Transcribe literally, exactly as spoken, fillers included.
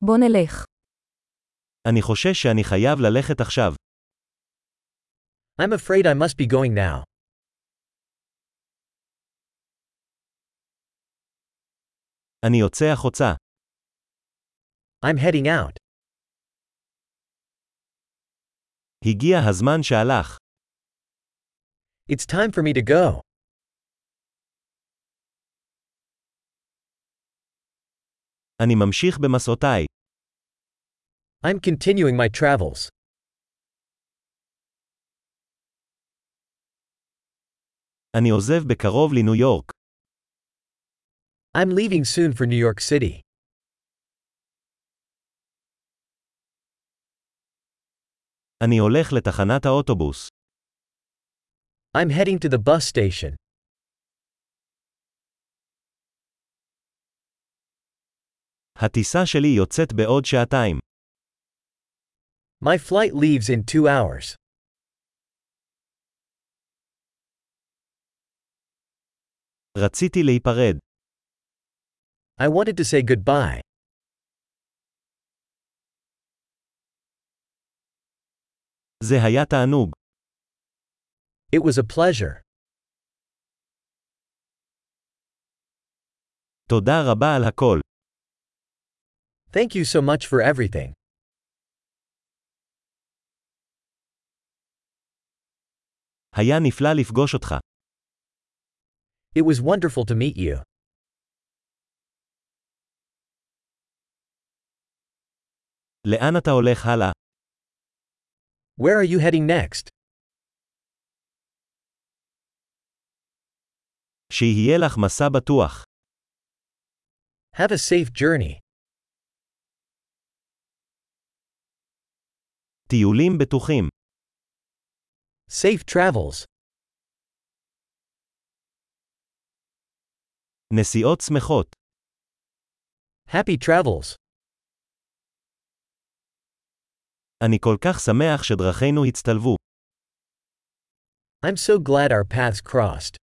בוא נלך. אני חושש שאני חייב ללכת עכשיו. I'm afraid I must be going now. אני יוצא החוצה. I'm heading out. הגיע הזמן שהלך. It's time for me to go. אני ממשיך במסעותיי. I'm continuing my travels. אני עוזב בקרוב לניו יורק. I'm leaving soon for New York City. אני הולך לתחנת האוטובוס. I'm heading to the bus station. הטיסה שלי יוצאת בעוד שעתיים. My flight leaves in two hours. רציתי להיפרד. I wanted to say goodbye. זה היה תענוג. It was a pleasure. תודה רבה על הכל. Thank you so much for everything. היה נפלא לפגוש אותך. It was wonderful to meet you. לאן אתה הולך הלאה? Where are you heading next? שיהיה לך מסע בטוח. Have a safe journey. טיולים בטוחים. Safe travels. נסיעות שמחות. Happy travels. אני כל כך שמח שדרכינו הצטלבו. I'm so glad our paths crossed.